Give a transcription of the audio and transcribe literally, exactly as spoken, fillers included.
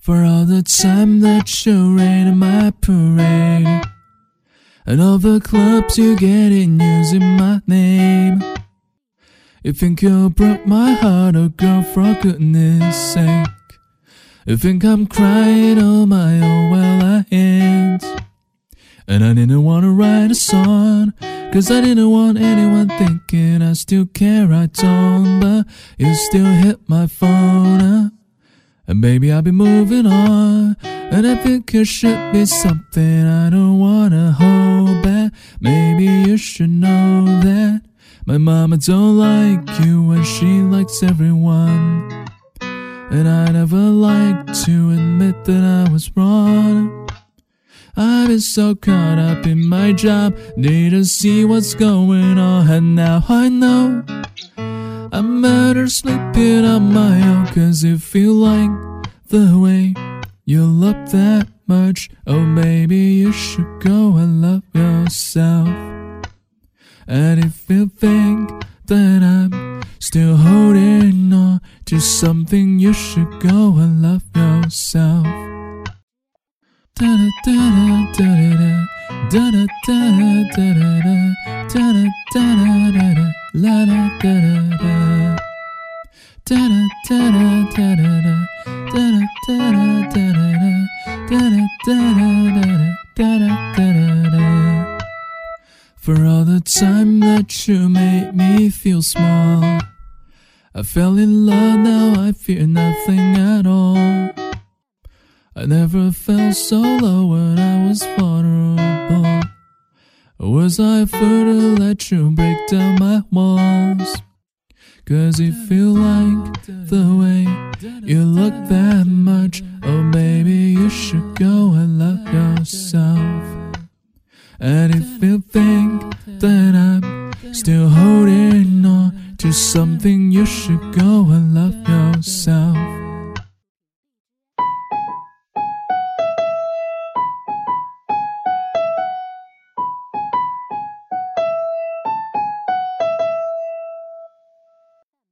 For all the time that you raided my parade, and all the clubs you get in using my name. You think you broke my heart, oh girl, for goodness sake. You think I'm crying on my own, well I ain't. And I didn't want to write a song, cause I didn't want anyone thinking I still care, I don't. But you still hit my phone up, and baby I'll be moving on. And I think it should be something I don't wanna hold back. Maybe you should know that my mama don't like you and she likes everyone. And I never liked to admit that I was wrong. I've been so caught up in my job, need to see what's going on. And now I know I'm better sleeping on my own, cause if you like the way you look that much, oh baby you should go and love yourself. And if you think that I'm still holding on to something, you should go and love yourself. Da da da da da da da da da da da da da da da la da da da da da da da da da da da da da da da. For all the time that you made me feel small, I fell in love, now I fear nothing at all. I never felt so low when I was vulnerable. Was I a fool to let you break down my walls? Cause if you like the way you look that much, oh baby you should go and love yourself. And if you think that I'm still holding on to something, you should go and love yourself.